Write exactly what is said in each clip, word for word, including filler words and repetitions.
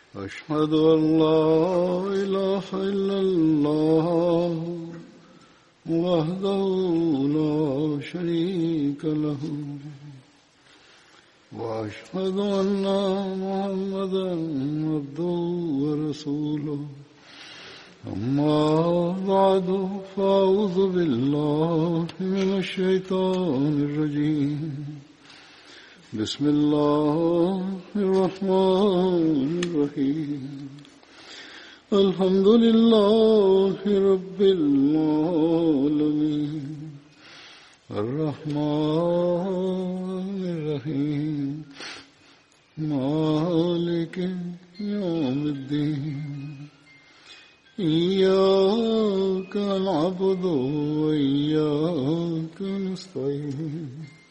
أشهد أن لا إله إلا الله وحده لا شريك له وأشهد أن محمدا عبده ورسوله أما بعد فأعوذ بالله من الشيطان الرجيم بسم الله الرحمن الرحيم الحمد لله رب العالمين الرحمن الرحيم مالك يوم الدين إياك نعبد وإياك نستعين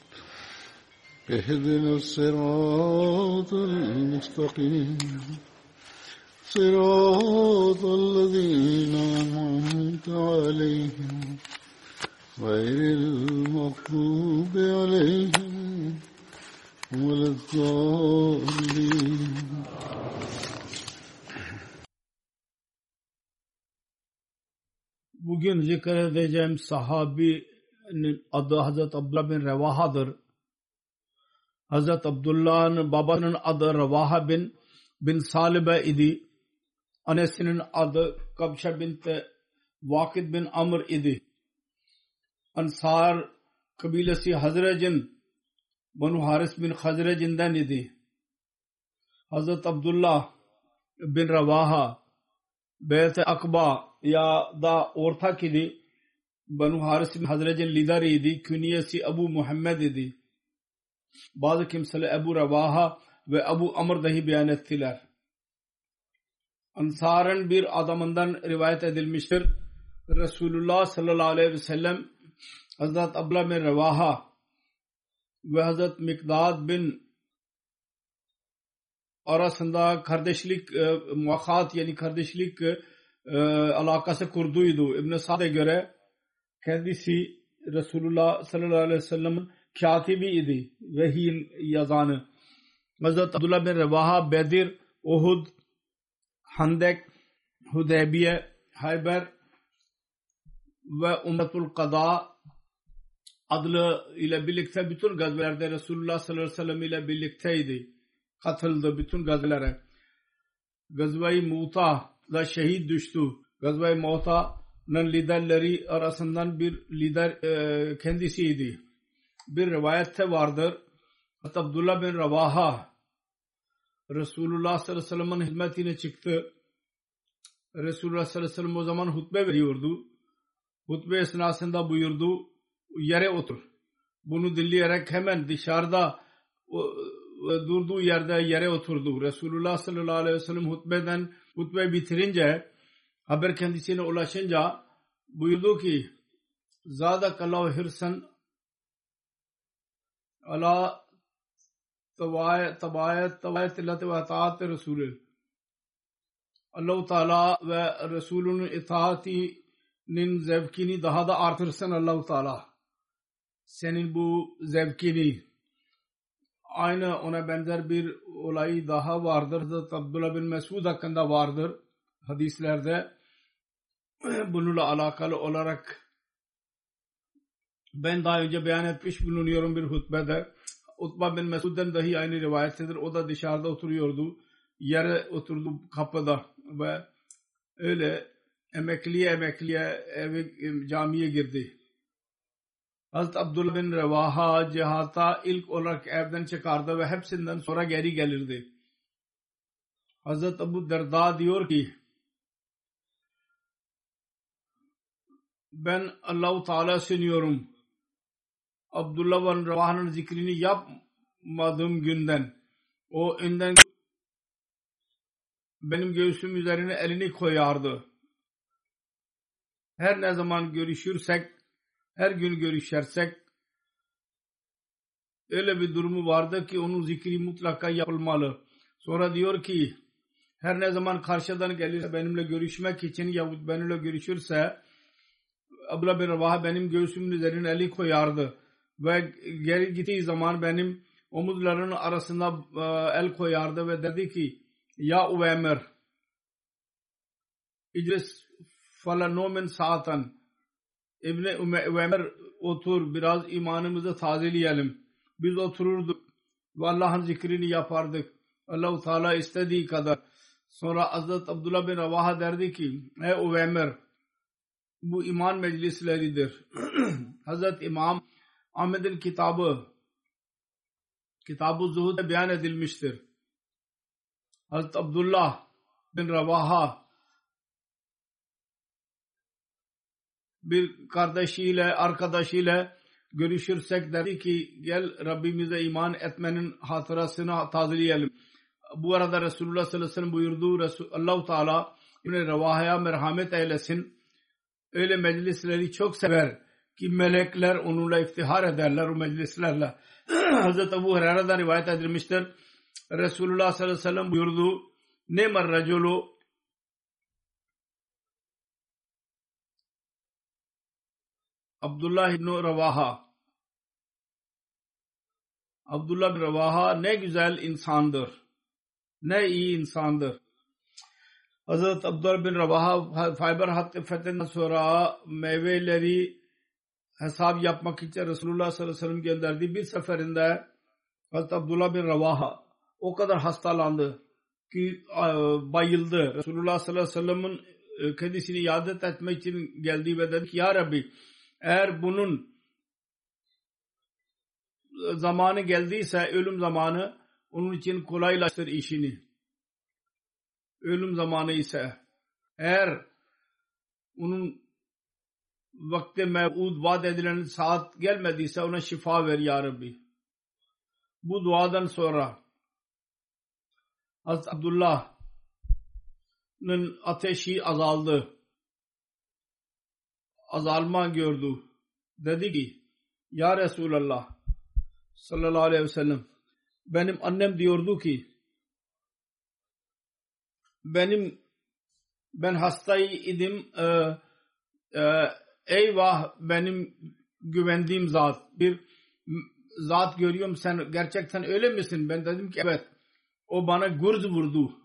اهدنا الصراط المستقيم صراط الذين أنعمت عليهم غير المغضوب عليهم ولا الضالين. Bugün zikredeceğim sahabinin adı Hazreti Abdullah bin Revaha'dır. Hazreti Abdullah'ın babasının adı Revaha bin bin Salibe idi. Annesinin adı Kabşa bint Vakid bin Amr idi. Ansar kabilesi Hazrec'in Banu Haris bin Hazrec'inden idi. Hazreti Abdullah bin Revaha Beyt-i Akba ya da ortak idi. Banu Haris bin Hazrec'in lideri idi. Künyesi Ebu Muhammed idi. Bazı kimseler Ebu Revaha ve Ebu Amr dahi beyan ettiler. Ansar'ın bir adamından rivayet edilmiştir. Resulullah sallallahu aleyhi ve sellem Hazreti Abdullah bin Revaha ve Hazreti Mikdad bin arasında kardeşlik e, muvakat yani kardeşlik e, alakası kurduydu. İbn-i Sa'd'e göre kendisi Resulullah sallallahu aleyhi ve sellem'in katibi idi. Vehyin yazanı. Hazreti Abdullah bin Revaha Bedir, Uhud, Handek, Hudeybiye, Hayber ve Umretul Qada adlı ile birlikte bütün gazvelerde Resulullah sallallahu aleyhi ve sellem ile birlikteydi. Katıldı bütün gazvelere. Gazve-i Mu'ta'da şehit düştü. Gazve-i Mu'ta'nın liderleri arasından bir lider e, kendisiydi. Bir rivayette vardır. Abdullah bin Revaha Resulullah sallallahu aleyhi ve sellem'in hizmetine çıktı. Resulullah sallallahu aleyhi ve sellem o zaman hutbe veriyordu. Hutbe esnasında buyurdu, yere otur. Bunu dinleyerek hemen dışarıda durduğu yerde yere oturdu. Resulullah sallallahu aleyhi ve sellem hutbeden hutbe bitirince haber kendisine ulaşınca buyurdu ki Zadakallahu hirsan ala tabayet tabayet tabayet illati ve itaat Resulü. Allah-u Teala ve Resulünün itaatinin zevkini daha da artırsın Allah-u Teala. Senin bu zevkini. Aynı ona benzer bir olay daha vardır. Hazreti Abdullah bin Mesud hakkında vardır. Hadislerde bununla alakalı olarak ben daha önce beyan etmiş bulunuyorum bir hutbede. Utba bin Mesud'den dahi aynı rivayettedir. O da dışarıda oturuyordu. Yere oturdu kapıda ve öyle emekliye emekliye evi, camiye girdi. Hazreti Abdullah bin Revaha cihata ilk olarak evden çıkardı ve hepsinden sonra geri gelirdi. Hazreti Ebu Derda diyor ki ben Allah-u Teala sığınıyorum. Abdullah bin Revaha'nın zikrini yapmadığım günden o önden benim göğsüm üzerine elini koyardı. Her ne zaman görüşürsek, her gün görüşersek öyle bir durumu vardı ki onun zikri mutlaka yapılmalı. Sonra diyor ki her ne zaman karşıdan gelirse benimle görüşmek için yahut benimle görüşürse Abdullah bin Revaha benim göğsümün üzerine eli koyardı ve geri gittiği zaman benim omuzlarının arasında el koyardı ve dedi ki Ya Uveymer İclis falanomen saatan İbni Uveymer otur biraz imanımızı tazeleyelim. Biz otururduk ve Allah'ın zikrini yapardık. Allah-u Teala istediği kadar. Sonra Hazreti Abdullah bin Ravaha derdi ki ey Uveymer bu iman meclisleridir. Hazreti İmam Ahmed'in kitabı Kitab-ı Zuhud'da beyan edilmiştir. Hazreti Abdullah bin Ravaha bir kardeşiyle arkadaşıyla görüşürsek derdi ki gel Rabbimize iman etmenin hatırasını tazeleyelim. Bu arada Resulullah sallallahu aleyhi ve sellem buyurdu Allah-u Teala İbn-i Revaha'ya merhamet eylesin. Öyle meclisleri çok sever ki melekler onunla iftihar ederler o meclislerle. Hazreti Ebu Hureyre'den rivayet edilmiştir. Resulullah sallallahu aleyhi ve sellem buyurdu Ne'mer raculu Abdullah ibn Ravaha Abdullah bin Ravaha ne güzel insandır. Ne iyi insandır. Hazreti Abdullah bin Ravaha Fayber Hattı fethinden sonra meyveleri hesap yapmak için Resulullah sallallahu aleyhi ve sellem gönderdi. Bir seferinde Hazreti Abdullah bin Ravaha o kadar hastalandı ki bayıldı. Resulullah sallallahu aleyhi ve sellem'in kendisini iade etmek için geldi ve dedi ki ya Rabbi eğer bunun zamanı geldiyse ölüm zamanı onun için kolaylaştır işini. Ölüm zamanı ise eğer onun vakti mev'ud vaat edilen saat gelmediyse ona şifa ver ya Rabbi. Bu duadan sonra Hazreti Abdullah'ın ateşi azaldı. Azalma gördü. Dedi ki ya Resulallah sallallahu aleyhi ve sellem benim annem diyordu ki benim ben hastaydım e, e, eyvah benim güvendiğim zat bir zat görüyorum sen gerçekten öyle misin? Ben dedim ki evet. O bana gurz vurdu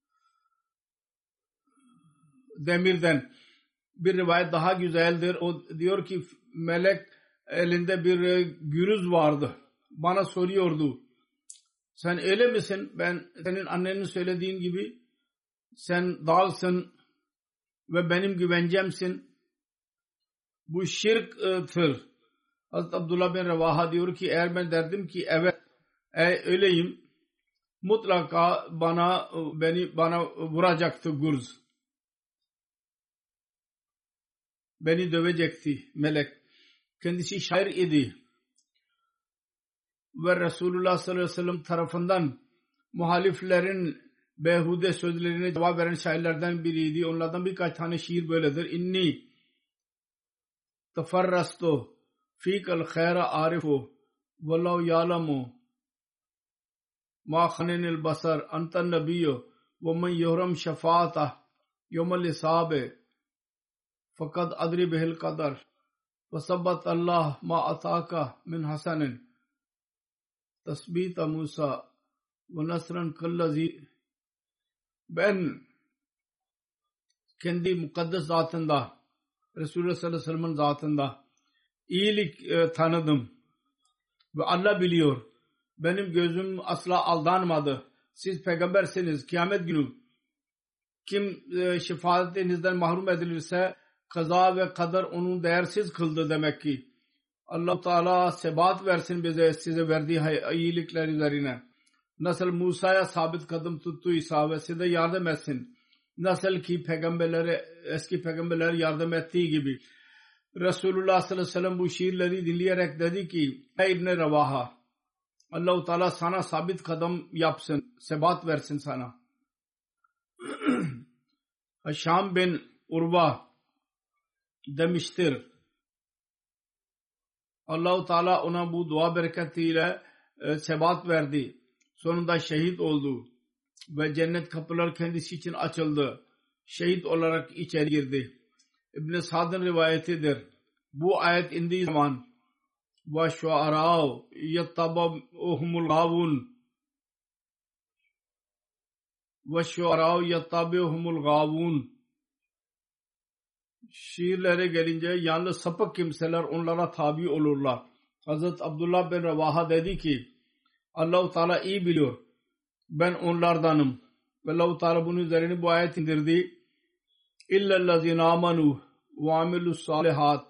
demirden. Bir rivayet daha güzeldir. O diyor ki melek elinde bir gürüz vardı. Bana soruyordu. Sen öyle misin? Ben senin annenin söylediğin gibi sen dağılsın ve benim güvencemsin. Bu şirktir. Hazreti Abdullah bin Ravaha diyor ki eğer ben derdim ki evet e, öyleyim mutlaka bana beni bana vuracaktı gurz. Beni dövecekti melek. Kendisi şair idi. Ve Resulullah sallallahu aleyhi ve sellem tarafından muhaliflerin behude sözlerine cevap veren şairlerden biriydi. Onlardan birkaç tane şiir böyledir. İnni teferrastu fikal khayra arifu vallahu ya'lamu ma khanenil basar antan nabiyyu ve men yuhram şefaatah yevmel hisabe fakat adri bihil kadar ve sabbat Allah ma ataka min hasanin tasbita Musa ve nasran kallazi. Ben kendi mukaddes zatında Resulullah sallallahu aleyhi ve sellem'in zatında iyilik e, tanıdım ve Allah biliyor. Benim gözüm asla aldanmadı. Siz peygambersiniz. Kıyamet günü kim e, şefaatinizden mahrum edilirse kaza ve kader onun değersiz kıldı demek ki. Allah Teala sebat versin bize size verdiği iyilikler üzerine. Nasıl Musa'ya sabit kadem tuttuysa ve size yardım etsin. Nasıl ki peygamberlere eski peygamberlere yardım ettiği gibi. Resulullah sallallahu aleyhi ve sellem bu şiirleri dinleyerek dedi ki ey İbn-i Ravaha Allah-u Teala sana sabit kadem yapsın. Sebat versin sana. Şam bin Urva demiştir. Allah-u Teala ona bu dua bereketiyle e, sebat verdi. Sonunda şehit oldu. Ve cennet kapıları kendisi için açıldı. Şehit olarak içeri girdi. İbn-i Sa'd'ın rivayetidir. Bu ayet indiği zaman ve şuara'u yettabahumul gavun ve şuarâ yettabihumul gâvûn. Şiirlere gelince yalnız sapık kimseler onlara tabi olurlar. Hazreti Abdullah bin Revaha dedi ki Allah-u Teala iyi biliyor. Ben onlardanım. Ve Allah-u Teala bunun üzerine bu ayet indirdi. İllellezîne âmenû ve amilus salihat.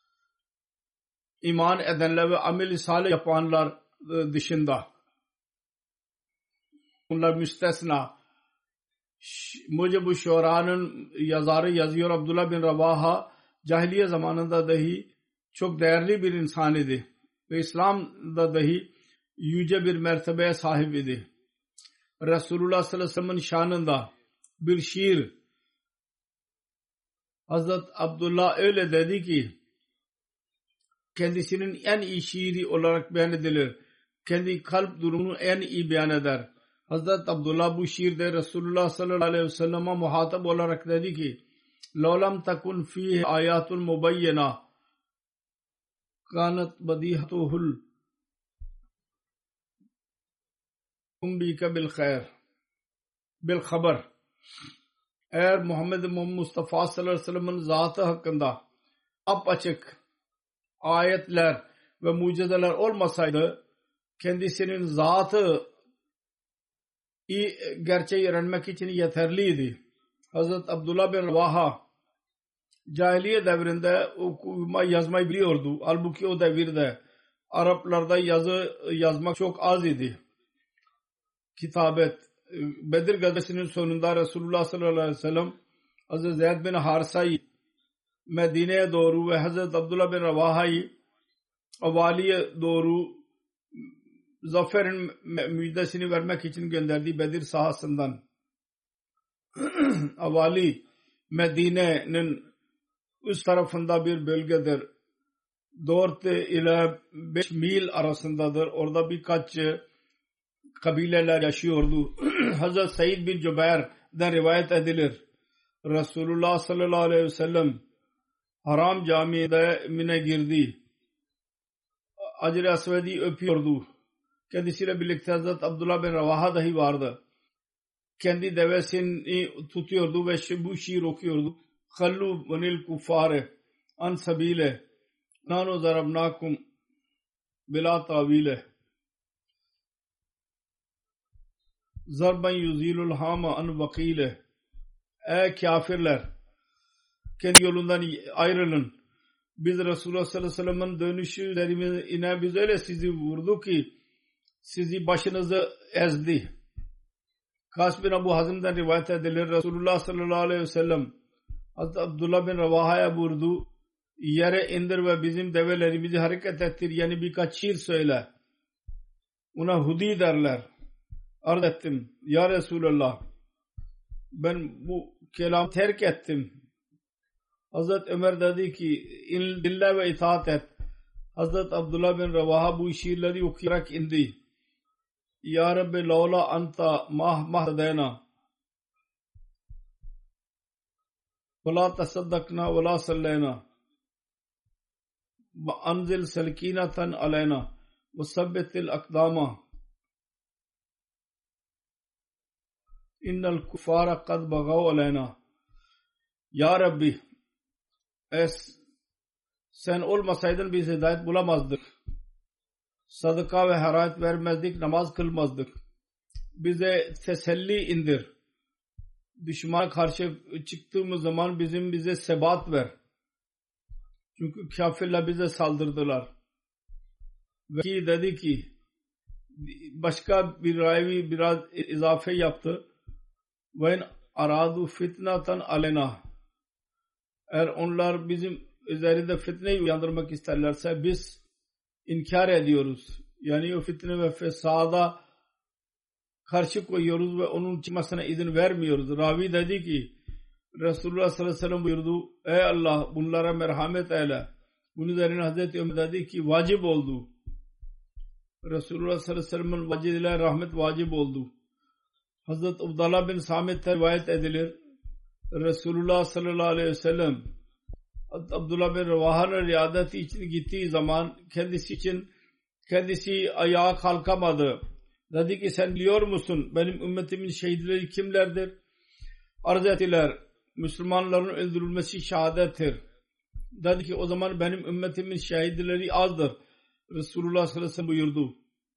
İman edenler ve amel-i salih yapanlar dışında. Onlar müstesna. Mucib-u Şuara'nın yazarı yazıyor Abdullah bin Revaha cahiliye zamanında dahi çok değerli bir insan idi. Ve İslam'da dahi yüce bir mertebeye sahip idi. Resulullah sallallahu aleyhi ve sellem'in şanında bir şiir Hazret Abdullah öyle dedi ki kendisinin en iyi şiiri olarak beyan edilir. Kendi kalp durumunu en iyi beyan eder. Hazret Abdullah bu şiirde Resulullah sallallahu aleyhi ve sellem'e muhatap olarak dedi ki لَوْلَمْ تَكُنْ ف۪يهِ آيَاتٌ مُبَيَّنَةٌ كَانَتْ بَدِيهَتُهُ الْاُنْبِيكَ بِالْخَيْرِ بِالْخَبَرِ. Eğer Muhammed Mustafa sallallahu aleyhi ve sellem'in zatı hakkında apaçık ayetler ve mucizeler olmasaydı kendisinin zatı iyi gerçeği öğrenmek için yeterliydi. Hazreti Abdullah bin Revaha cahiliye devrinde okuma yazmayı biliyordu. Halbuki o devirde Araplarda yazı yazmak çok az idi. Kitabet Bedir gazvesinin sonunda Resulullah sallallahu aleyhi ve sellem Hazreti Zeyd bin Harisa'yı Medine'ye doğru ve Hazreti Abdullah bin Revaha'yı Avali'ye doğru zaferin müjdesini vermek için gönderdi Bedir sahasından. Avali Medine'nin üst tarafında bir bölgedir. dört ile beş mil arasındadır. Orada birkaç kabileler yaşıyordu. Hazreti Said bin Cübeyr'den rivayet edilir. Resulullah sallallahu aleyhi ve sellem Haram Camii'de mine girdi. Hacer-i Asved'i öpüyordu. Kendisiyle birlikte Hazreti Abdullah bin Revaha dahi vardı. Kendi devesini tutuyordu ve bu şiir okuyordu. Hallu banil kuffare an sabile nanu zarabnakum bila tavile zarban yuzilul hama an vakile. Ey kafirler, kendi yolundan ayrılın. Biz Resulullah sallallahu aleyhi ve sellem'in dönüşü üzerine biz öyle sizi vurdu ki sizi başınızı ezdi. Kas bin Abu Hazim'den rivayet edilir. Resulullah sallallahu aleyhi ve sellem Hazreti Abdullah bin Revaha'ya vurdu. Yere indir ve bizim develerimizi hareket ettir. Yani birkaç şiir söyle. Ona hudi derler. Arz ettim. Ya Resulullah, ben bu kelam terk ettim. Hazreti Ömer dedi ki dinle ve itaat et. Hazreti Abdullah bin Revaha bu şiirleri okuyarak indi. Ya Rabbi lawla anta mah mahdena ve la tasaddakna ve la sallayna ve anzil selkinatan alayna ve sabbitil akdama innel kuffara kad bagav alayna. Ya Rabbi, es sen olmasaydın biz hidayet bulamazdık. Sadaka ve harayet vermezdik, namaz kılmazdık. Bize teselli indir. Düşmana karşı çıktığımız zaman bizim bize sebat ver. Çünkü kafirler bize saldırdılar. Ve dedi ki başka bir ravi biraz izafe yaptı. Ve aradu fitnatan alena. Eğer onlar bizim üzerinde fitneyi uyandırmak isterlerse biz inkar ediyoruz. Yani o fitne ve fesada karşı koyuyoruz ve onun çıkmasına izin vermiyoruz. Ravi dedi ki Resulullah sallallahu aleyhi ve sellem buyurdu. Ey Allah, bunlara merhamet eyle. Bunun üzerine Hazreti Ömer dedi ki vacip oldu. Resulullah sallallahu aleyhi ve sellem'in vacib ile rahmet vacip oldu. Hazreti Abdullah bin Samit'ten rivayet edilir. Resulullah sallallahu aleyhi ve sellem Abdullah bin Revaha'nın riyadeti için gittiği zaman kendisi için kendisi ayağa kalkamadı Dedi ki sen biliyor musun benim ümmetimin şehitleri kimlerdir? Arz ettiler. Müslümanların öldürülmesi şehadettir. Dedi ki o zaman benim ümmetimin şehitleri azdır. Resulullah sallallahu aleyhi ve sellem buyurdu.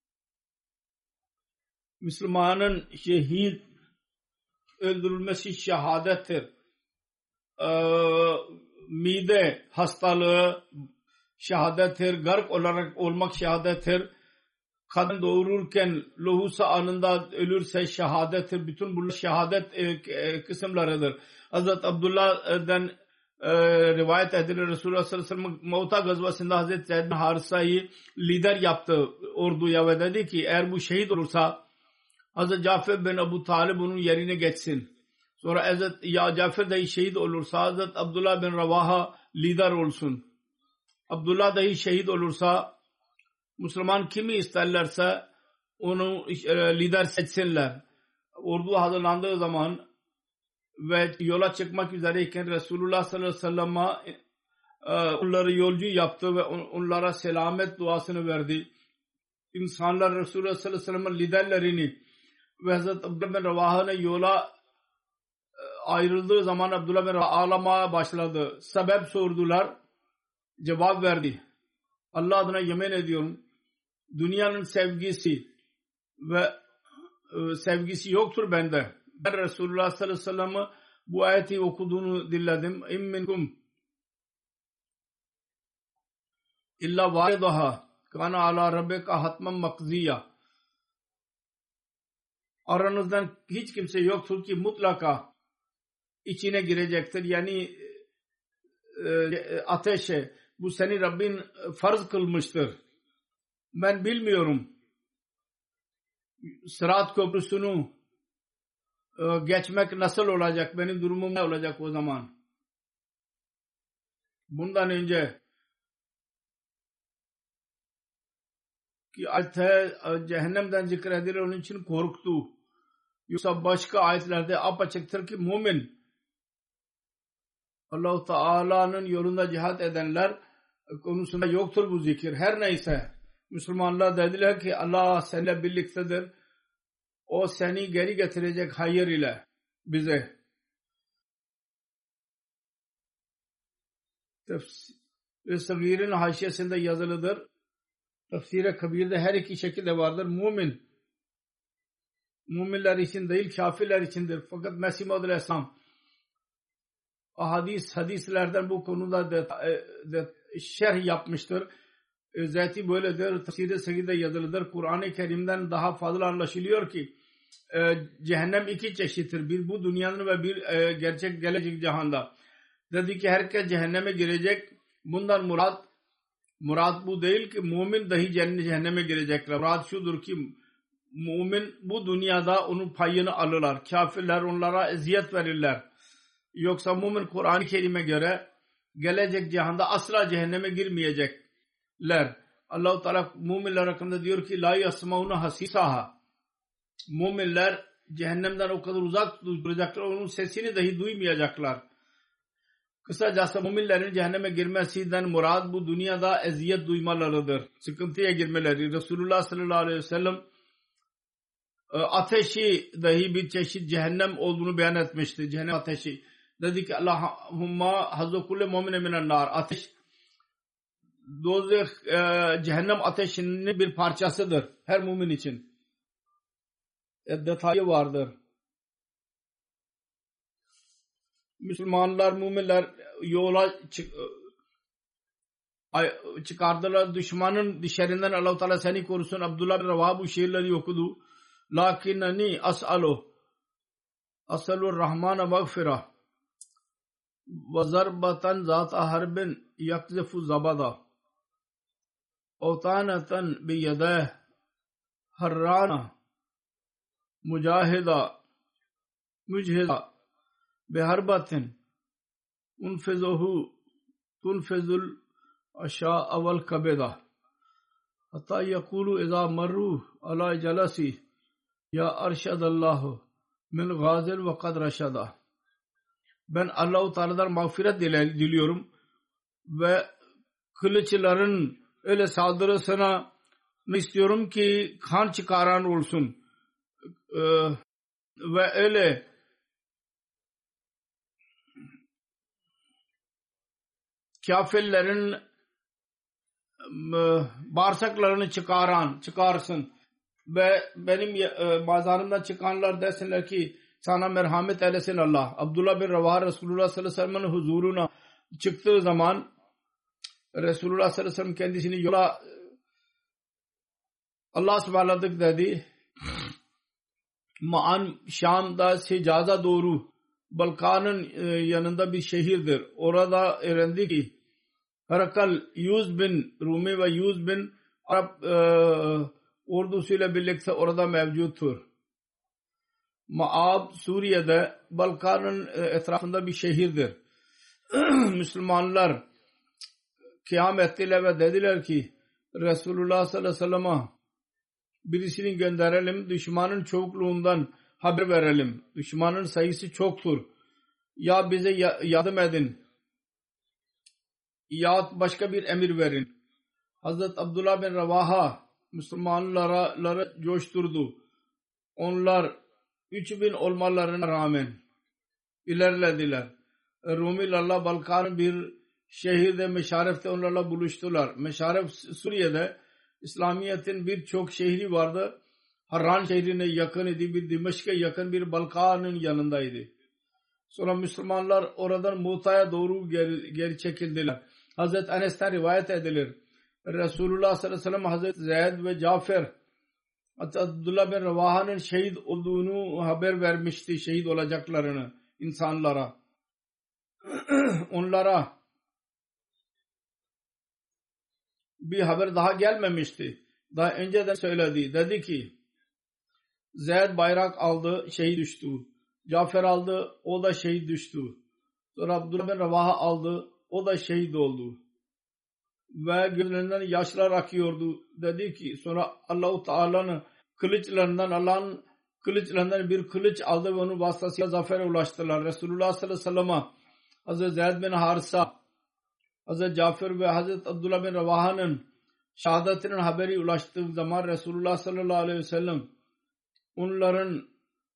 Müslümanın şehit öldürülmesi şehadettir. Ee, mide hastalığı şehadettir. Gark olarak olmak şehadettir. Kadın doğururken lohusa anında ölürse şehadettir. Bütün bunlar şehadet e, e, kısımlarıdır. Hazreti Abdullah'dan e, rivayet edilir. Resulullah sallallahu aleyhi ve sellem Mu'ta gazvasında Hazreti Zeyd bin Harisa'yı lider yaptı orduya ve dedi ki eğer bu şehit olursa Hazreti Cafer bin Ebu Talib onun yerine geçsin. Sonra Hazreti ya Cafer dahi şehit olursa Hazreti Abdullah bin Ravaha lider olsun. Abdullah dahi şehit olursa Müslüman kimi isterlerse onu lider seçsinler. Ordu hazırlandığı zaman ve yola çıkmak üzereyken Resulullah sallallahu aleyhi ve sellem'e onları yolcu yaptı ve onlara selamet duasını verdi. İnsanlar Resulullah sallallahu aleyhi ve sellem'in liderlerini ve Hazreti Abdullah bin Ravaha'nın yola ayrıldığı zaman Abdullah bin Ravaha ağlamaya başladı. Sebep sordular. Cevap verdi. Allah adına yemin ediyorum dünyanın sevgisi ve e, sevgisi yoktur bende. Ben Resulullah sallallahu aleyhi ve sellem'e bu ayeti okuduğunu dinledim. İm minkum illa varidaha kana ala rabbika hatman makziya. Aranızdan hiç kimse yoktur ki mutlaka içine girecektir. Yani e, ateşe bu seni Rabbin farz kılmıştır. Ben bilmiyorum. Sırat köprüsünü e, geçmek nasıl olacak? Benim durumum ne olacak o zaman? Bundan önce ki ayette cehennemden zikredilir onun için korktu. Yoksa başka ayetlerde apaçıktır ki mümin Allah-u Teala'nın yolunda cihat edenler konusunda yoktur bu zikir. Her neyse Müslümanlar dediler ki Allah seninle birliktedir. O seni geri getirecek hayır ile bize. Tefsir-i Sagir'in haşiyesinde yazılıdır. Tefsir-i Kabir'de her iki şekilde vardır. Mümin müminler için değil kafirler içindir. Fakat Mesih Maud Aleyhisselam hadis hadislerden bu konuda de, de, şerh yapmıştır. Özeti böyledir. Tefsir-i Sagir'de yazılıdır. Kur'an-ı Kerim'den daha fazla anlaşılıyor ki e, cehennem iki çeşittir. Bir bu dünyanın ve bir e, gerçek gelecek cihanda. Dedi ki herkes cehenneme girecek. Bundan murat murat bu değil ki mümin dahi cehenneme girecekler. Murat şudur ki mümin bu dünyada onun payını alırlar. Kafirler onlara eziyet verirler. Yoksa mümin Kur'an-ı Kerim'e göre gelecek cihanda asla cehenneme girmeyecekler. Allah-u Teala müminler hakkında diyor ki la yasmauna hasisaha. Müminler cehennemden o kadar uzak duracaklar, onun sesini dahi duymayacaklar. Kısacası müminlerin cehenneme girmesinden murad bu dünyada eziyet duymalarıdır. Sıkıntıya girmeleri. Resulullah sallallahu aleyhi ve sellem ateşi dahi bir çeşit cehennem olduğunu beyan etmişti. Cehennem ateşi. Dedi ki Allahumma hazzu kulli mu'mine minen nar. Ateş dozeh cehennem ateşinin bir parçasıdır. Her mümin için. E, detayı vardır. Müslümanlar, müminler yola çık çıkardılar. Düşmanın dışarından Allah-u Teala seni korusun. Abdullah bin Ravaha bu şiirleri okudu. Lakinnani as'alu as'alu rahmana mağfira ve zarbatan zat-a harbin yakzifu zabada avtanatan bi yadeh harrana mujahida mujhida biharbatin unfizuhu tunfizul aşa'a vel kabeda hatta yekulu iza marru ala jalasi ya arşadallahu min gazil ve kad raşada. Ben Allah-u Teala'dan mağfiret diliyorum ve kılıçların öyle saldırısına istiyorum ki kan çıkaran olsun. Ee, ve öyle kafirlerin bağırsaklarını çıkaran, çıkarsın. Ve benim e, bazarımdan çıkanlar desinler ki sana merhamet eylesin Allah. Abdullah bin Ravah Resulullah sallallahu aleyhi ve sellem'in huzuruna çıktığı zaman Resulullah sallallahu aleyhi ve sellem kendisini yola Allah ısmarladık dedi. Ma'an Şam'da Sicaz'a doğru Balkan'ın yanında bir şehirdir. Orada öğrendi ki Herakal yüz bin Rumi ve yüz bin Arap e, ordusuyla birlikte orada mevcuttur. Ma'ab Suriye'de Balkan'ın etrafında bir şehirdir. Müslümanlar kıyam ettiler ve dediler ki Resulullah sallallahu aleyhi ve sellem'e birisini gönderelim, düşmanın çokluğundan haber verelim. Düşmanın sayısı çoktur. Ya bize yardım edin ya başka bir emir verin. Hazreti Abdullah bin Ravaha Müslümanları coşturdu. Onlar üç bin olmalarına rağmen ilerlediler. Rumilerle Balkan'ın bir şehirde Meşaref'te onlarla buluştular. Meşaref Suriye'de İslamiyet'in birçok şehri vardı. Harran şehrine yakın idi. Bir Dimeşk'e yakın bir Balkan'ın yanındaydı. Sonra Müslümanlar oradan Muta'ya doğru geri, geri çekildiler. Hazreti Enes'ten rivayet edilir. Resulullah sallallahu aleyhi ve sellem Hazreti Zeyd ve Cafer Abdullah bin Ravaha'nın şehit olduğunu haber vermişti. Şehit olacaklarını insanlara. Onlara bir haber daha gelmemişti. Daha önceden söyledi. Dedi ki Zeyd bayrak aldı, şehit düştü. Cafer aldı, o da şehit düştü. Sonra Abdullah bin Ravaha aldı, o da şehit oldu. Ve gözlerinden yaşlar akıyordu. Dedi ki sonra Allah-u Teala'nın kılıçlarından Allah'ın kılıçlarından bir kılıç aldı ve onun vasıtasıyla zafere ulaştılar. Resulullah sallallahu aleyhi ve sellem'e Hazreti Zeyd bin Harisa, Hazreti Cafer ve Hazreti Abdullah bin Ravaha'nın şehadetinin haberi ulaştığı zaman Resulullah sallallahu aleyhi ve sellem onların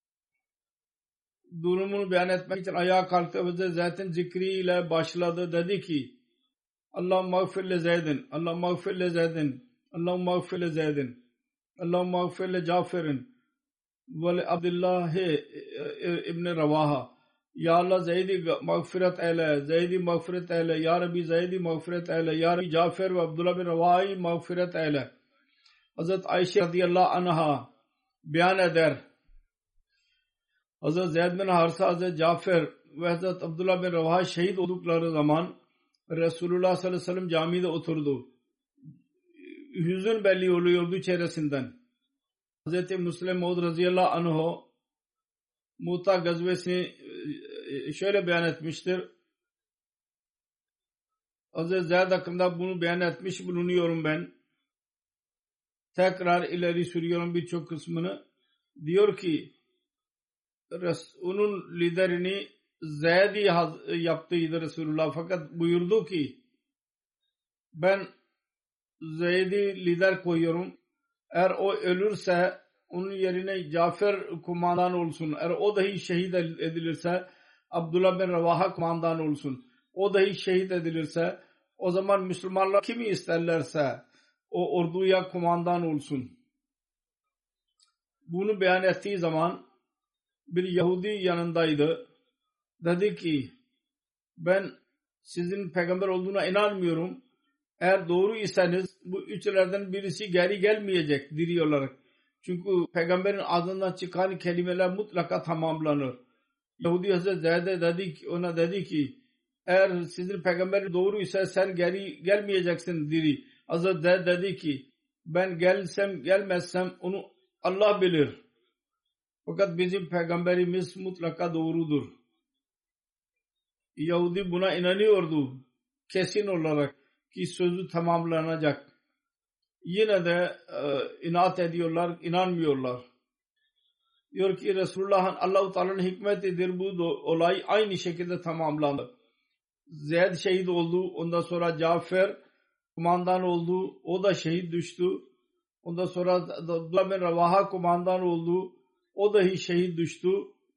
durumunu beyan etmek için ayağa kalktı ve Zeyd'in zikriyle başladı. Dedi ki Allahümme mağfir le Zeyd'in, Allahümme mağfir le Zeyd'in, Allahümme mağfir le Zeyd'in, Allahümme mağfir le Cafer'in ve le Abdullah ibn Ravaha. Ya Allah Zeyd'i mağfiret eyle, Zeyd'i mağfiret eyle, Ya Rabbi Zeyd'i mağfiret eyle, Ya Rabbi Cafer ve Abdullah bin Ravaha'yı mağfiret eyle. Hazreti Ayşe radıyallahu anha beyan eder. Hazreti Zeyd bin Harisa, Hazreti Cafer ve Hazreti Abdullah bin Ravaha şehit oldukları zaman Resulullah sallallahu aleyhi ve sellem camide oturdu. Hüzün belli oluyordu çehresinden. Hazreti Müslim Maud radıyallahu anhu Muta gazvesini şöyle beyan etmiştir. Hazreti Zeyd hakkında bunu beyan etmiş bulunuyorum ben. Tekrar ileri sürüyorum birçok kısmını. Diyor ki onun liderini Zeyd'i yaptıydı Resulullah. Fakat buyurdu ki ben Zeyd'i lider koyuyorum. Eğer o ölürse onun yerine Cafer kumandan olsun. Eğer o dahi şehit edilirse Abdullah bin Ravaha kumandan olsun. O dahi şehit edilirse o zaman Müslümanlar kimi isterlerse o orduya kumandan olsun. Bunu beyan ettiği zaman bir Yahudi yanındaydı. Dedi ki ben sizin peygamber olduğuna inanmıyorum. Eğer doğru iseniz bu üçlerden birisi geri gelmeyecek diri olarak. Çünkü peygamberin ağzından çıkan kelimeler mutlaka tamamlanır. Yahudi Hazreti Zeyd'e dedi ki, ona dedi ki eğer sizin peygamber doğru ise sen geri gelmeyeceksin diri. Hazreti Zeyd dedi ki ben gelsem gelmezsem onu Allah bilir. Fakat bizim peygamberimiz mutlaka doğrudur. Yahudi buna inanıyordu. Kesin olarak ki sözü tamamlanacak. Yine de e, inat ediyorlar, inanmıyorlar. Diyor ki Resulullah'ın Allah-u Teala'nın hikmetidir bu olay aynı şekilde tamamlandı. Zeyd şehit oldu. Ondan sonra Cafer kumandan oldu. O da şehit düştü. Ondan sonra Abdullah bin Ravaha kumandan oldu. O dahi şehit düştü.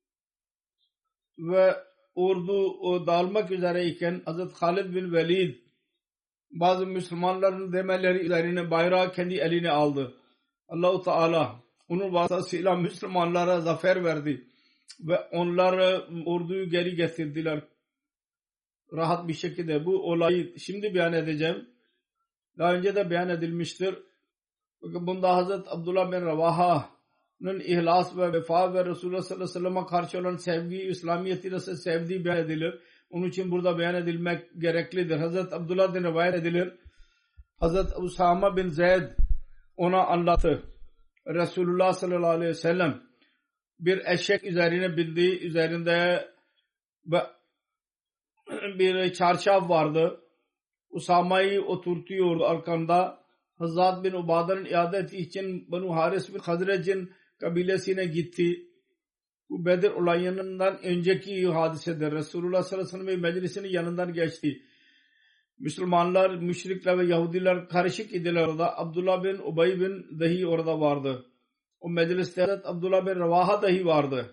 Ve ordu o dağılmak üzereyken Hazreti Halid bin Velid bazı Müslümanların demeleri üzerine bayrağı kendi eline aldı. Allah-u Teala onun vasıtasıyla Müslümanlara zafer verdi. Ve onlar orduyu geri getirdiler. Rahat bir şekilde bu olayı şimdi beyan edeceğim. Daha önce de beyan edilmiştir. Bunda Hazreti Abdullah bin Ravaha'nın ihlas ve vefa ve Resulullah sallallahu aleyhi ve sellem'e karşı olan sevgi, İslamiyet'i nasıl sevdiği beyan edilir. Onun için burada beyan edilmek gereklidir. Hazreti Abdullah'dan rivayet edilir. Hazreti Usama bin Zeyd ona anlattı. Resulullah sallallahu aleyhi ve sellem bir eşek üzerine bindi. Üzerinde bir çarşaf vardı. Usama'yı oturtuyordu arkanda. Hazrat bin Ubada'nın iadeti için Banu Haris bin Hazrec'in kabilesine gitti. Bu Bedir olayından önceki hadisedir. Resulullah sallallahu aleyhi ve sellem meclisinin yanından geçti. Müslümanlar, müşrikler ve Yahudiler karışık idiler orada. Abdullah bin Ubay bin dahi orada vardı. O mecliste Abdullah bin Ravaha dahi vardı.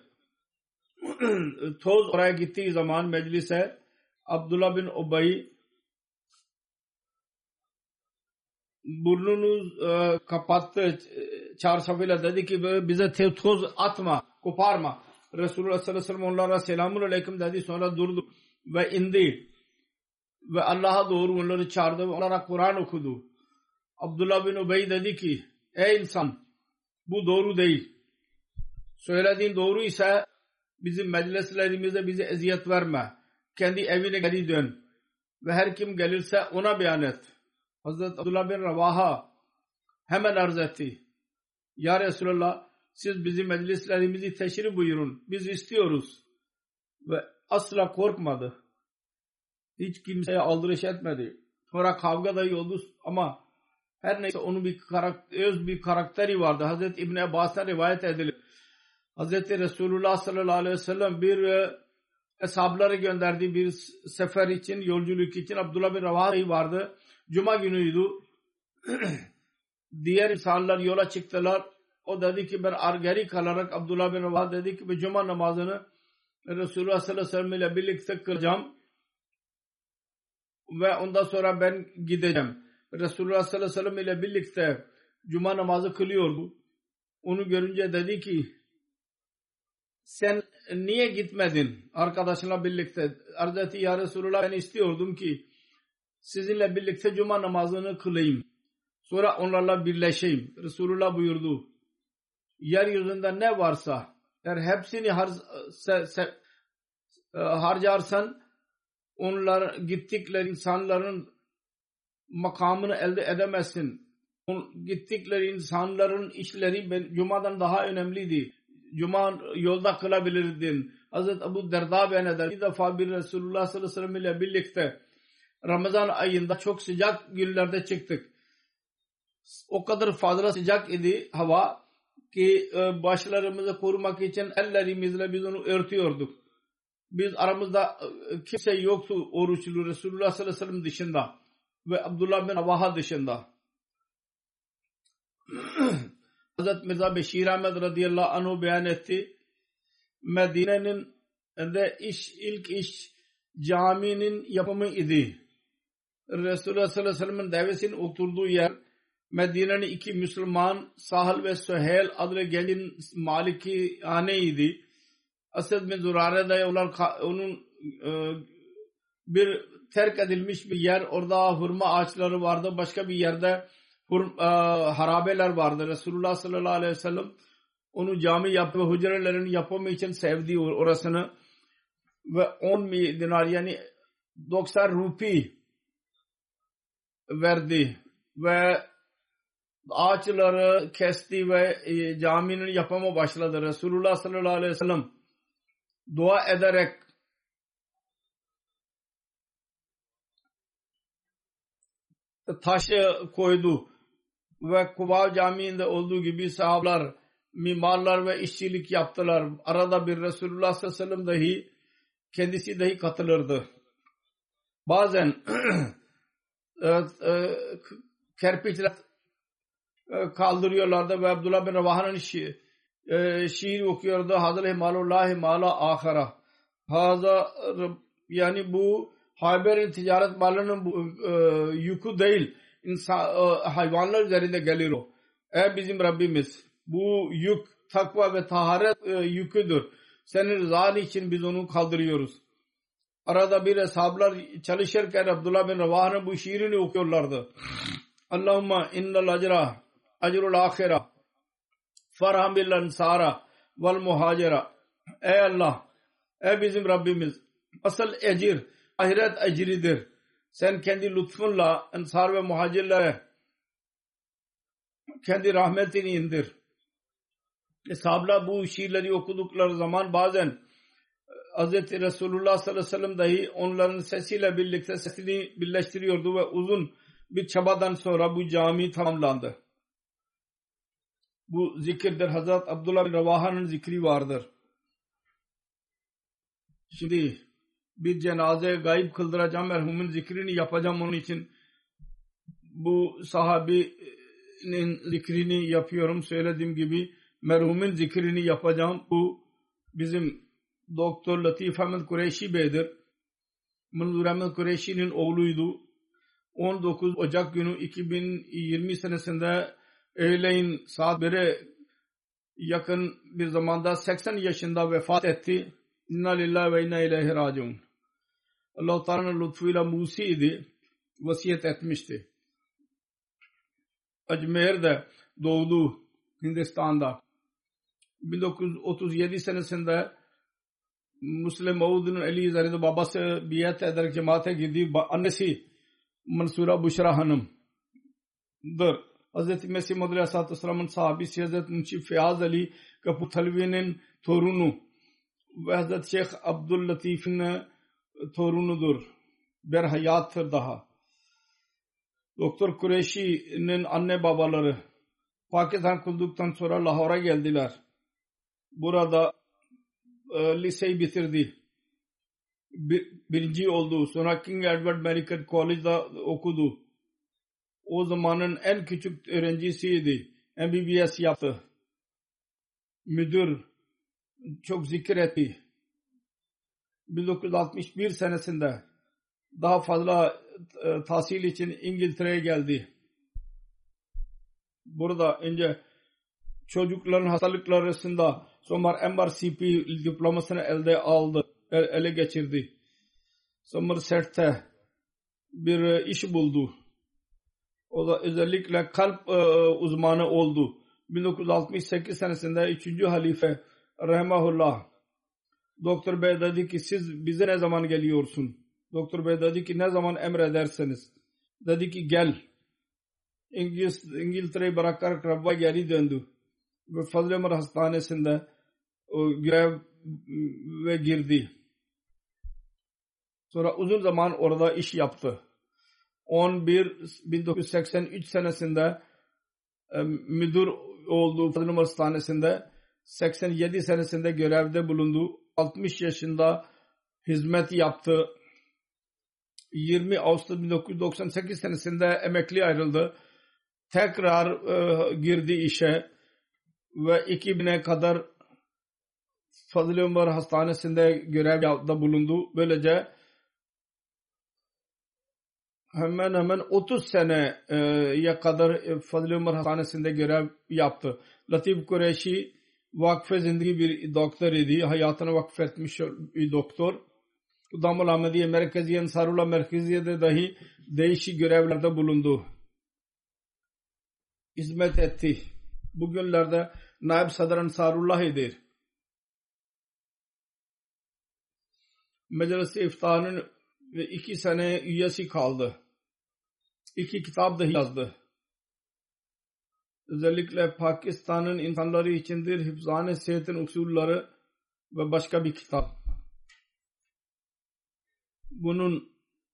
Toz oraya gittiği zaman meclise Abdullah bin Ubay burnunu e, kapattı çarşafıyla, dedi ki bize toz atma, koparma. Resulullah sallallahu aleyhi ve sellem onlara selamun aleyküm dedi, sonra durdu ve indi ve Allah'a doğru onları çağırdı ve onlara Kur'an okudu. Abdullah bin Ubay dedi ki ey insan, bu doğru değil. Söylediğin doğru ise bizim meclislerimizde bize eziyet verme. Kendi evine geri dön ve her kim gelirse ona beyan et. Hazreti Abdullah bin Ravaha hemen arz etti. Ya Resulallah, siz bizim meclislerimizi teşrif buyurun. Biz istiyoruz. Ve asla korkmadı. Hiç kimseye aldırış etmedi. Sonra kavga dahi oldu ama her neyse onun bir karakter, öz bir karakteri vardı. Hazreti İbn Abbas'tan rivayet edilir. Hazreti Resulullah sallallahu aleyhi ve sellem bir e, eshabları gönderdiği bir sefer için, yolculuk için. Abdullah bin Ravaha vardı. Cuma günüydü. Diğer insanlar yola çıktılar. O dedi ki ben geri kalarak, Abdullah bin Ravaha dedi ki ben cuma namazını Resulullah sallallahu aleyhi ve sellem ile birlikte kılacağım ve ondan sonra ben gideceğim. Resulullah sallallahu aleyhi ve sellem ile birlikte cuma namazı kılıyordu. Onu görünce dedi ki sen niye gitmedin arkadaşınla birlikte? Arz etti, ya Resulullah, ben istiyordum ki sizinle birlikte cuma namazını kılayım. Sonra onlarla birleşeyim. Resulullah buyurdu. Yeryüzünde ne varsa eğer hepsini har se, se, harcarsan onlar gittikleri insanların makamını elde edemezsin. Gittikleri insanların işleri Cuma'dan daha önemliydi. Cuma yolda kılabilirdin. Hazreti Ebu Derda beyan eder. Bir defa bir Resulullah sallallahu aleyhi ve sellem ile birlikte Ramazan ayında çok sıcak günlerde çıktık. O kadar fazla sıcak idi hava ki başlarımızı korumak için ellerimizle biz onu örtüyorduk. Biz aramızda kimse yoktu oruçlu Resulullah sallallahu aleyhi ve sellem dışında ve Abdullah bin Ravaha dışında. Hazreti Mirza Beşir Ahmed radıyallahu anhu beyan etti. Medine'nin de iş, ilk iş caminin yapımı idi. Resulullah sallallahu aleyhi ve sellem'in devesinin oturduğu yer Medine'nin iki Müslüman Sahal ve Süheyl adlı gencin malikihaneydi. Asad bin Zurare'de onun e, bir terk edilmiş bir yer, orada hurma ağaçları vardı. Başka bir yerde hurma, e, harabeler vardı. Resulullah sallallahu aleyhi ve sellem onu cami yaptı ve hücrelerin yapımı için sevdi orasını ve on dinar yani doksan rupi verdi ve ağaçları kesti ve e, caminin yapımı başladı. Resulullah sallallahu aleyhi ve sellem dua ederek taşı koydu ve Kuba Camii'nde olduğu gibi sahabeler, mimarlar ve işçilik yaptılar. Arada bir Resulullah sallallahu aleyhi ve sellem dahi kendisi dahi katılırdı. Bazen kerpiçler e, kaldırıyorlardı ve Abdullah bin Ravaha'nın şi, e, şiir okuyordu. Hazal himalullahi mala ahara. Haza yani bu Hayber'in ticaret malının bu, e, yükü değil. İnsan, e, hayvanlar üzerinde gelir o. Ey bizim Rabbimiz, bu yük takva ve taharet e, yüküdür. Senin rızan için biz onu kaldırıyoruz. Arada bir hesaplar çalışırken Abdullah bin Ravaha'nın bu şiirini okuyorlardı. Allahumma innal acra acrul ahira farham bil ansara vel muhacira. Ey Allah, ey bizim Rabbimiz, asıl ecir ahiret ecridir. Sen kendi lütfunla ensar ve muhacirlere kendi rahmetini indir. Sahablar bu şiirleri okudukları zaman bazen Hz. Resulullah sallallahu aleyhi ve sellem dahi onların sesiyle birlikte sesini birleştiriyordu ve uzun bir çabadan sonra bu cami tamamlandı. Bu zikirdir. Hazret Abdullah bin Ravaha'nın zikri vardır. Şimdi bir cenaze gayb kıldıracağım, merhumun zikrini yapacağım, onun için bu sahabinin zikrini yapıyorum. Söylediğim gibi merhumun zikrini yapacağım. Bu bizim Doktor Latif Ahmed Kureyşi Bey'dir. Manzur Ahmed Kureyşi'nin oğluydu. on dokuz Ocak günü iki bin yirmi senesinde öğleyin saat bire yakın bir zamanda seksen yaşında vefat etti. İnna lillahi ve inna ileyhi raciun. Allah-u Teala'nın lütfuyla Musi idi. Vasiyet etmişti. Ajmer'de doğdu, Hindistan'da. bin dokuz yüz otuz yedi senesinde Müslim Maud'un Ali Zahir'de babası biat ederek cemaate girdi. Annesi Mansura Buşra Hanım'dır. Hz. Mesih Madri Aleyhisselatü Vesselam'ın sahabisi Hz. Munşi Fiyaz Ali Kaputhalvi'nin torunu ve Hz. Şeyh Abdüllatif'in torunudur. Berhayattır daha. Doktor Kureyşi'nin anne babaları Pakistan kurulduktan sonra Lahor'a geldiler. Burada e, liseyi bitirdi. Bir, birinci oldu. Sonra King Edward Medical College'da okudu. O zamanın en küçük öğrencisiydi. M B B S yaptı. Müdür çok zikir etti. bin dokuz yüz altmış bir senesinde daha fazla e, tahsil için İngiltere'ye geldi. Burada önce çocukların hastalıkları arasında sonra M R C P diplomasını elde aldı, ele geçirdi. Somerset'te bir iş buldu. O da özellikle kalp e, uzmanı oldu. bin dokuz yüz altmış sekiz senesinde üçüncü halife Rahimahullah Doktor Bey dedi ki siz bize ne zaman geliyorsun? Doktor Bey dedi ki ne zaman emrederseniz. Dedi ki gel. İngiliz, İngiltere'yi bırakarak Rabb'a geri döndü. Ve Fazıl Ömer Hastanesi'nde o, görev ve girdi. Sonra uzun zaman orada iş yaptı. on bir bin dokuz yüz seksen üç senesinde e, müdür oldu Fazıl Ömer Hastanesi'nde. seksen yedi senesinde görevde bulundu. altmış yaşında hizmet yaptı. yirmi Ağustos bin dokuz yüz doksan sekiz senesinde emekli ayrıldı. Tekrar e, girdi işe ve iki bine kadar Fazıl Ömer Hastanesi'nde görevde bulundu. Böylece hemen hemen otuz seneye kadar Fazıl Ömer Hastanesi'nde görev yaptı. Latif Kureyşi vakfe zindagi bir doktor idi. Hayatını vakfetmiş bir doktor. Damul Ahmediye Merkeziye Ensarullah Merkeziye'de dahi değişik görevlerde bulundu. Hizmet etti. Bugünlerde Naib Sadr Ensarullah'ıdır. Meclis-i İftah'ın iki sene üyesi kaldı. İki kitap dahi yazdı. Özellikle Pakistan'ın insanları içindir Hifzane Sehetin usulları ve başka bir kitap. Bunun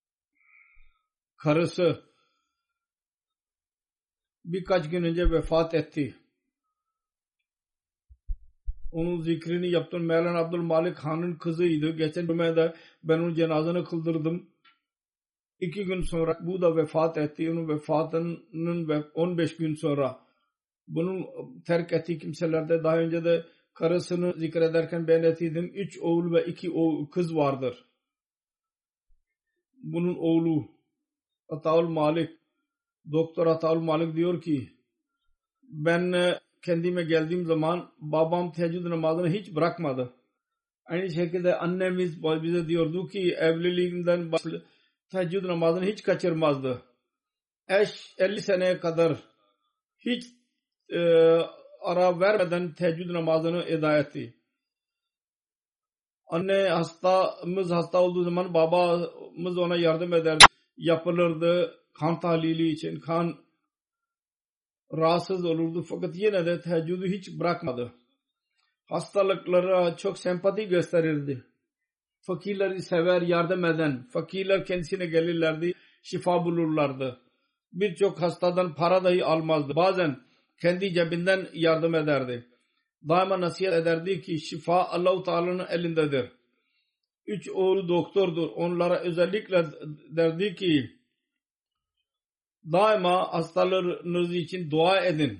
karısı birkaç gün önce vefat etti. Onun zikrini yaptım. Mevlana Abdülmalik Han'ın kızıydı. Geçen cumada ben onun cenazını kıldırdım. İki gün sonra bu da vefat etti. Onun vefatının on beş gün sonra Bunun terk ettiği kimselerde daha önce de karısını zikrederken beyan ettiydim. Üç oğul ve iki oğul, kız vardır. Bunun oğlu Ataul Malik, Doktor Ataul Malik diyor ki ben kendime geldiğim zaman babam teheccüd namazını hiç bırakmadı. Aynı şekilde annemiz bize diyordu ki evliliğinden teheccüd namazını hiç kaçırmazdı. Eş elli seneye kadar hiç e, ara vermeden teheccüd namazını eda etti. Anne hastamız hasta olduğu zaman babamız ona yardım ederdi. Yapılırdı kan tahlili için. Kan rahatsız olurdu fakat yine de teheccüdü hiç bırakmadı. Hastalıklara çok sempati gösterirdi. Fakirleri sever, yardım eden. Fakirler kendisine gelirlerdi, şifa bulurlardı. Birçok hastadan para dahi almazdı. Bazen kendi cebinden yardım ederdi. Daima nasihat ederdi ki şifa Allah-u Teala'nın elindedir. Üç oğlu doktordur. Onlara özellikle derdi ki daima hastalarınız için dua edin.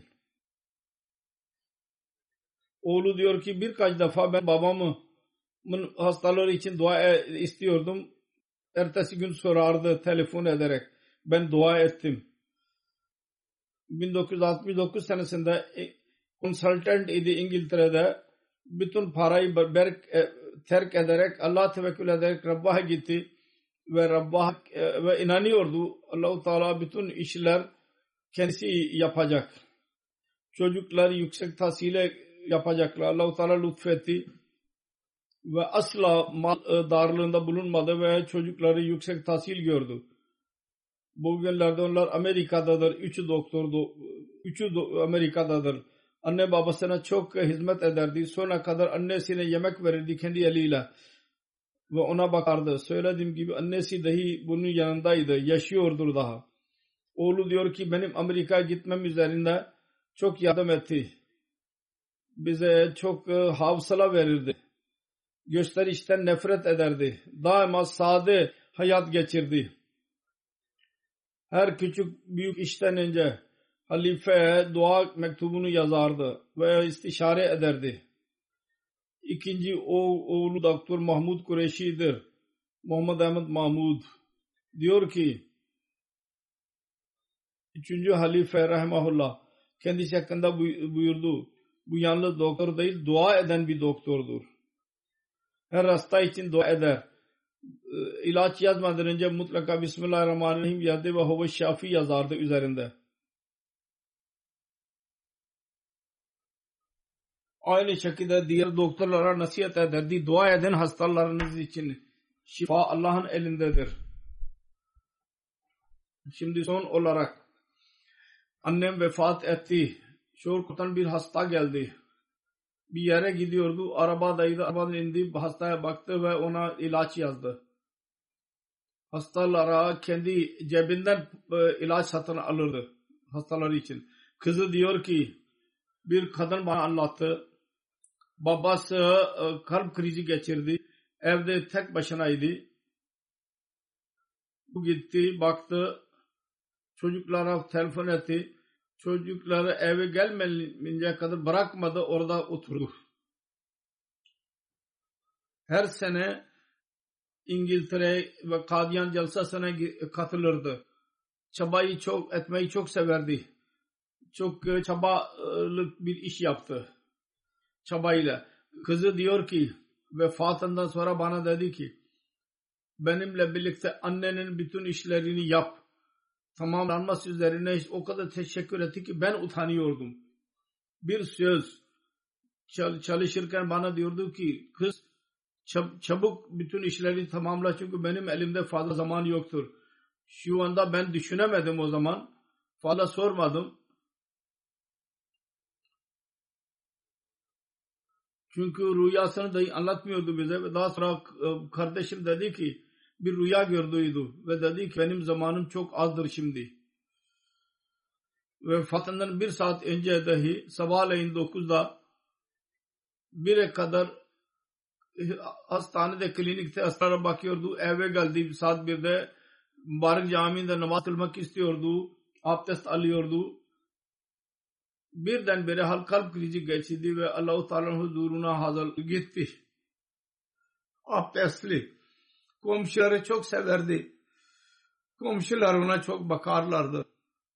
Oğlu diyor ki birkaç defa ben babamın hastaları için dua istiyordum. Ertesi gün sorardı telefon ederek. Ben dua ettim. bin dokuz yüz altmış dokuz senesinde consultant idi İngiltere'de. Bütün parayı berk, terk ederek Allah tevekkül ederek Rabb'a gitti ve Rabb'a ve inanıyordu. Allah-u Teala bütün işler kendisi yapacak. Çocuklar yüksek tahsile yapacaklar. Allah-u Teala lütfetti ve asla mal darlığında bulunmadı ve çocukları yüksek tahsil gördü. Bugünlerde onlar Amerika'dadır. Üçü doktordu. Üçü do- Amerika'dadır. Anne babasına çok hizmet ederdi. Sonra kadar annesine yemek verirdi kendi eliyle. Ve ona bakardı. Söylediğim gibi annesi dahi bunun yanındaydı. Yaşıyordur daha. Oğlu diyor ki benim Amerika'ya gitmem üzerinde çok yardım etti. Bize çok hafsala verirdi. Gösterişten nefret ederdi. Daima sade hayat geçirdi. Her küçük büyük işten önce halifeye dua mektubunu yazardı ve istişare ederdi. İkinci oğlu Doktor Mahmud Kureşi'dir. Muhammed Ahmed Mahmud diyor ki üçüncü halife rahimahullah kendisi hakkında buyurdu. Bu yalnız doktor değil, dua eden bir doktordur. Her hasta için dua eder. İlaç yazmadan önce mutlaka Bismillahirrahmanirrahim yazdı ve Huve Şafi yazardı üzerinde. Aynı şekilde diğer doktorlara nasihat ederdi. Dua edin hastalarınız için. Şifa Allah'ın elindedir. Şimdi son olarak annem vefat etti. Şorkut'tan bir hasta geldi. Bir yere gidiyordu. Arabadaydı. Arabadan indi. Hastaya baktı ve ona ilaç yazdı. Hastalara kendi cebinden ilaç satın alırdı. Hastaları için. Kızı diyor ki bir kadın bana anlattı. Babası kalp krizi geçirdi. Evde tek başınaydı. Bu gitti. Baktı. Çocuklara telefon etti. Çocukları eve gelmeyince kadar bırakmadı. Orada oturdu. Her sene İngiltere ve Kadiyan Jalsası'na katılırdı. Çabayı çok etmeyi çok severdi. Çok çabalık bir iş yaptı. Çabayla. Kızı diyor ki vefatından sonra bana dedi ki benimle birlikte annenin bütün işlerini yap. Tamamlanması üzerine o kadar teşekkür etti ki ben utanıyordum. Bir söz çalışırken bana diyordu ki kız çabuk bütün işleri tamamla çünkü benim elimde fazla zaman yoktur. Şu anda ben düşünemedim o zaman. Fazla sormadım. Çünkü rüyasını dahi anlatmıyordu bize ve daha sonra kardeşim dedi ki bir rüya gördüydü ve dedi ki benim zamanım çok azdır şimdi. Vefatından bir saat önce dahi sabahleyin dokuzda bire kadar hastanede, klinikte hastalara bakıyordu. Eve geldi saat birde Mübarek Camii'nde namaz kılmak istiyordu. Abdest alıyordu. birdenbire hal kalp krizi geçirdi ve Allah-u Teala'nın huzuruna hazır gitti. Abdestli. Komşuları çok severdi. Komşular ona çok bakarlardı.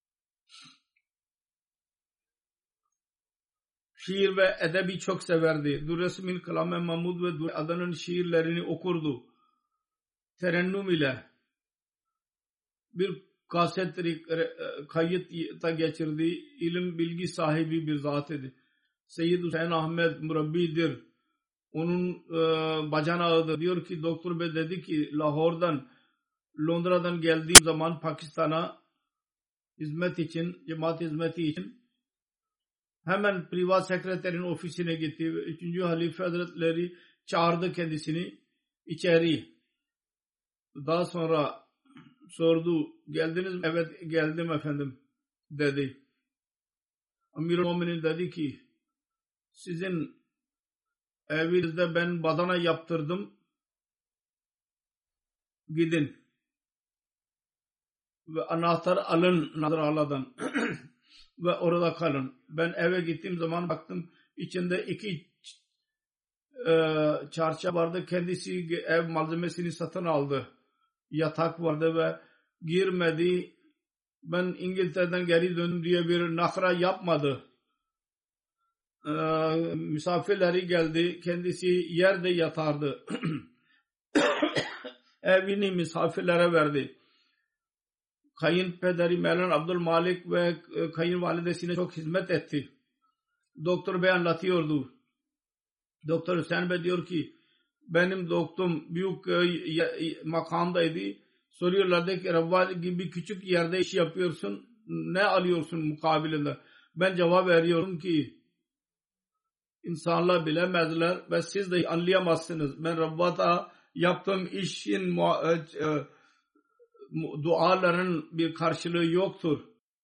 Şiir ve edebi çok severdi. Durresmin Kalame Mahmud ve Dur Adan'ın şiirlerini okurdu. Terennüm ile bir kaset kayıtta geçirdi. İlim bilgi sahibi bir zat idi. Seyyid Hüseyin Ahmet Murabbi'dir. Onun e, bacanağıdır. Diyor ki Doktor Bey dedi ki Lahor'dan Londra'dan geldiğim zaman Pakistan'a hizmet için, cemaat hizmeti için hemen privat sekreterin ofisine gitti ve üçüncü Halife Hazretleri çağırdı kendisini içeri. Daha sonra sordu, geldiniz mi? Evet geldim efendim dedi. Amir-i Mu'minin dedi ki sizin evinizde ben badana yaptırdım, gidin ve anahtar alın Nazırala'dan ve orada kalın. Ben eve gittiğim zaman baktım içinde iki e, çarşaf vardı. Kendisi ev malzemesini satın aldı. Yatak vardı ve girmedi. Ben İngiltere'den geri döndüm diye bir nakra yapmadı. E, misafirleri geldi. Kendisi yerde yatardı. Evini misafirlere verdi. Kayınpederi Mevlana Abdülmalik ve kayınvalidesine çok hizmet etti. Doktor Bey anlatıyordu. Doktor Hüseyin Bey diyor ki benim doktorum büyük makamdaydı. Soruyorlardı ki Rabbi gibi küçük yerde iş yapıyorsun. Ne alıyorsun mukabilinde? Ben cevap veriyorum ki insanlar bilemezler ve siz de anlayamazsınız. Ben Rabbata yaptığım işin duaların bir karşılığı yoktur.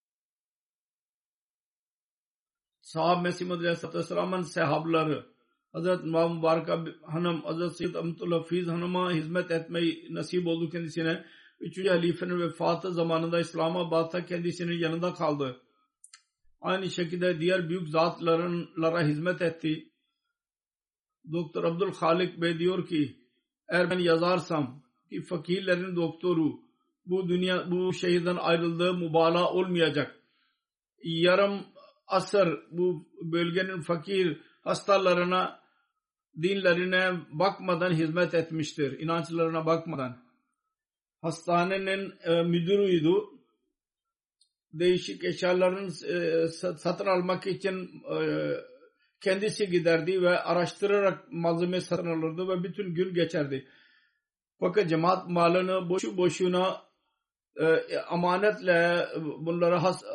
Sahab Mesih Madri Aleyhisselam'ın sahabları Hazreti Mübarek Hanım, Hazreti Seyyid Ahmetullah Hafiz Hanım'a hizmet etmeyi nasip oldu kendisine. Üçüncü halifenin vefatı zamanında İslamabad'da kendisinin yanında kaldı. Aynı şekilde diğer büyük zatlara hizmet etti. Doktor Abdülhalik Bey diyor ki eğer ben yazarsam ki fakirlerin doktoru bu dünya bu şehirden ayrıldığı mübalağa olmayacak. Yarım asır bu bölgenin fakir hastalarına dinlerine bakmadan hizmet etmiştir. İnançlarına bakmadan. Hastanenin e, müdürüydü. Değişik eşyaların e, satın almak için e, kendisi giderdi ve araştırarak malzeme satın alırdı ve bütün gün geçerdi. Fakat cemaat malını boşu boşuna e, amanetle bunları has,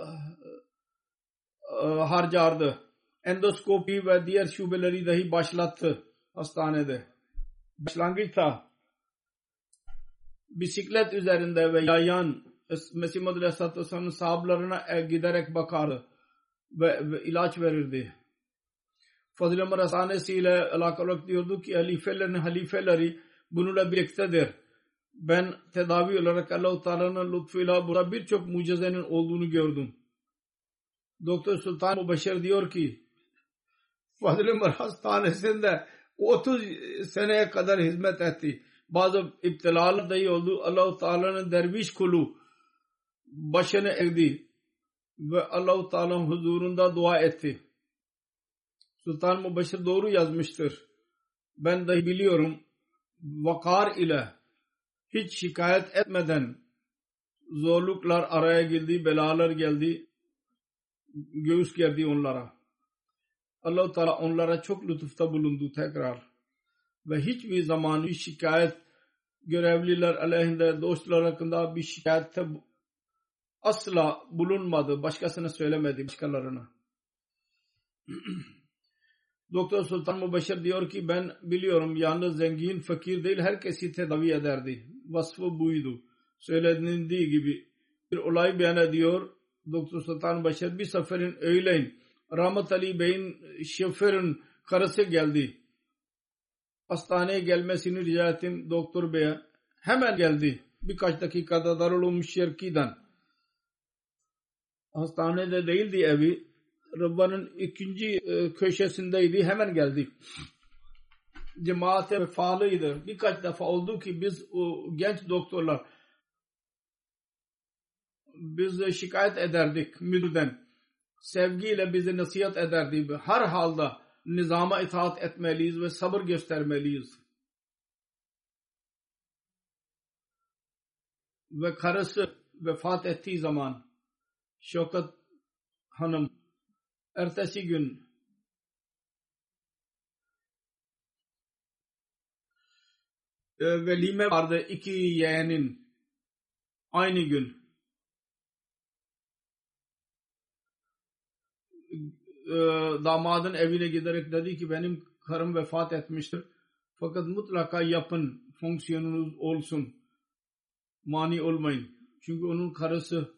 e, harcardı. Endoskopi ve diğer şubeleri dahi başlattı hastanede. Başlangıçta bisiklet üzerinde ve yayan Mesih Madri Aleyhisselatü Vesselam'ın sahablarına giderek bakardı ve, ve ilaç verirdi. Fazıl-ı Ömer Hastanesi ile alakalı diyordu ki halifelerin halifeleri bununla birliktedir. Ben tedavi olarak Allah-u Teala'nın lütfuyla burada birçok mucizenin olduğunu gördüm. Doktor Sultan Mubaşir diyor ki Fazıl-ı Ömer Hastanesi'nde otuz seneye kadar hizmet etti. Bazı iptilalar dahi oldu. Allah-u Teala'nın derviş kulu başını eğdi ve Allah-u Teala'nın huzurunda dua etti. Sultan Mubaşir doğru yazmıştır. Ben dahi biliyorum. Vakar ile hiç şikayet etmeden zorluklar araya girdi, belalar geldi, göğüs gerdi onlara. Allah-u Teala onlara çok lütufta bulundu tekrar. Ve hiçbir zaman bir şikayet görevliler aleyhinde, dostlar hakkında bir şikayette asla bulunmadı. Başkasına söylemedi, başkalarına. Doktor Sultan Mubaşir diyor ki ben biliyorum yalnız zengin, fakir değil herkesi tedavi ederdi. Vasfı buydu. Söylenildiği gibi bir olay beyan ediyor. Doktor Sultan Mubaşir bir seferin öğleyin Rahmet Ali Bey'in şoförün karısı geldi. Hastaneye gelmesini rica ettim Doktor Bey'e. Hemen geldi. Birkaç dakikada Darul Umm Şerki'den. Hastanede değildi evi. Rabbanın ikinci köşesindeydi. Hemen geldik. Cemaate faalıydı. Birkaç defa oldu ki biz o genç doktorlar biz şikayet ederdik müdürden. Sevgiyle bize nasihat ederdi. Her halde nizama itaat etmeliyiz ve sabır göstermeliyiz. Ve karısı vefat ettiği zaman Şevkat Hanım ertesi gün e, velime vardı iki yeğenin aynı gün. E, damadın evine giderek dedi ki benim karım vefat etmiştir. Fakat mutlaka yapın, fonksiyonunuz olsun. Mani olmayın. Çünkü onun karısı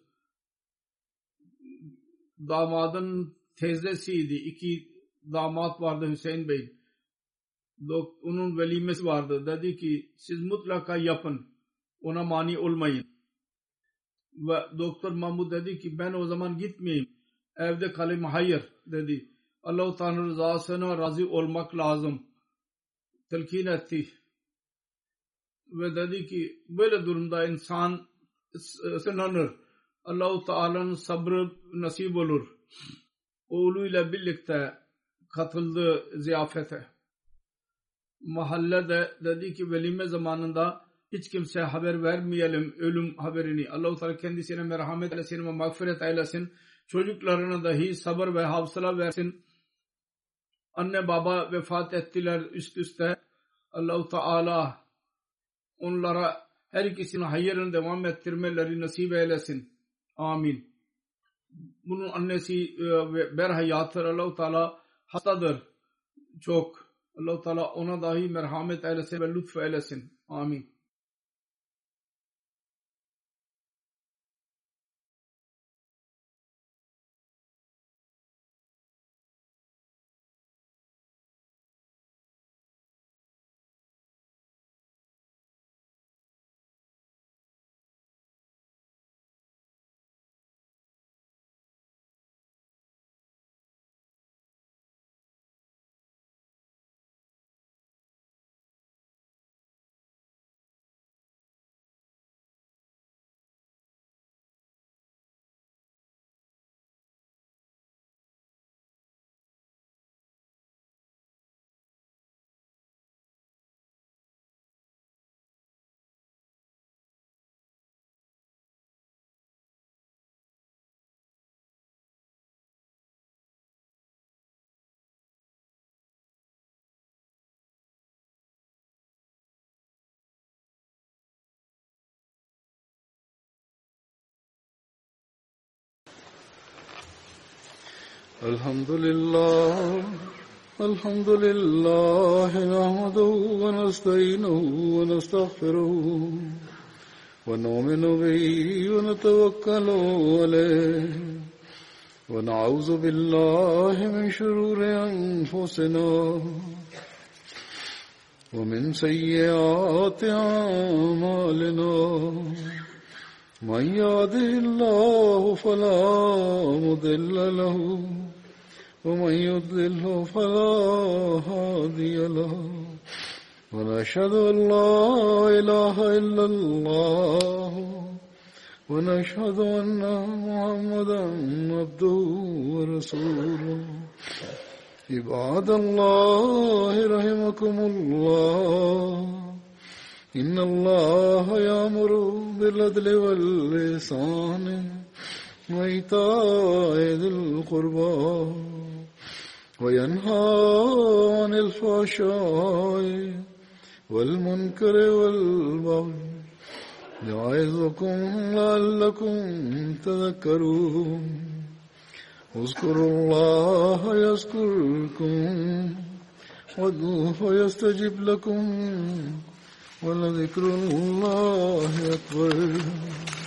damadın teyzesiydi. İki damat vardı Hüseyin Bey. Onun velimesi vardı. Dedi ki siz mutlaka yapın. Ona mani olmayın. Ve Doktor Mahmud dedi ki ben o zaman gitmeyeyim. Evde kalayım. Hayır dedi. Allah-u Teala rızasına razı olmak lazım. Telkin etti. Ve dedi ki böyle durumda insan sınanır. Allah-u Teala'nın sabrı nasip olur. Oğluyla birlikte katıldı ziyafete. Mahallede dedi ki velime zamanında hiç kimseye haber vermeyelim ölüm haberini. Allah-u Teala kendisine merhamet eylesin ve mağfiret eylesin. Çocuklarına dahi sabır ve hafıza versin. Anne baba vefat ettiler üst üste. Allah-u Teala onlara her ikisinin hayırını devam ettirmeleri nasip eylesin. Amin. Bunun annesi berhayattır. Allah-u Teala hastadır. Çok. Allah-u Teala ona dahi merhamet eylesin ve lütf eylesin. Amin. الحمد لله الحمد لله نحمده ونستعينه ونستغفره ونؤمن به ونتوكل عليه ونعوذ بالله من شرور أنفسنا ومن سيئات أعمالنا من يهده الله فلا مضل له ومن يضلل فلا هادي له ونشهد أن لا إله إلا الله ونشهد أن محمدا عبده ورسوله عباد الله رحمكم الله إن الله يأمر بالعدل والإحسان وإيتاء ذي القربى وينهى عن الفحشاء والمنكر والبغي يعظكم لعلكم تذكرون اذكروا الله يذكركم وادعوه يستجب لكم ولذكر الله أكبر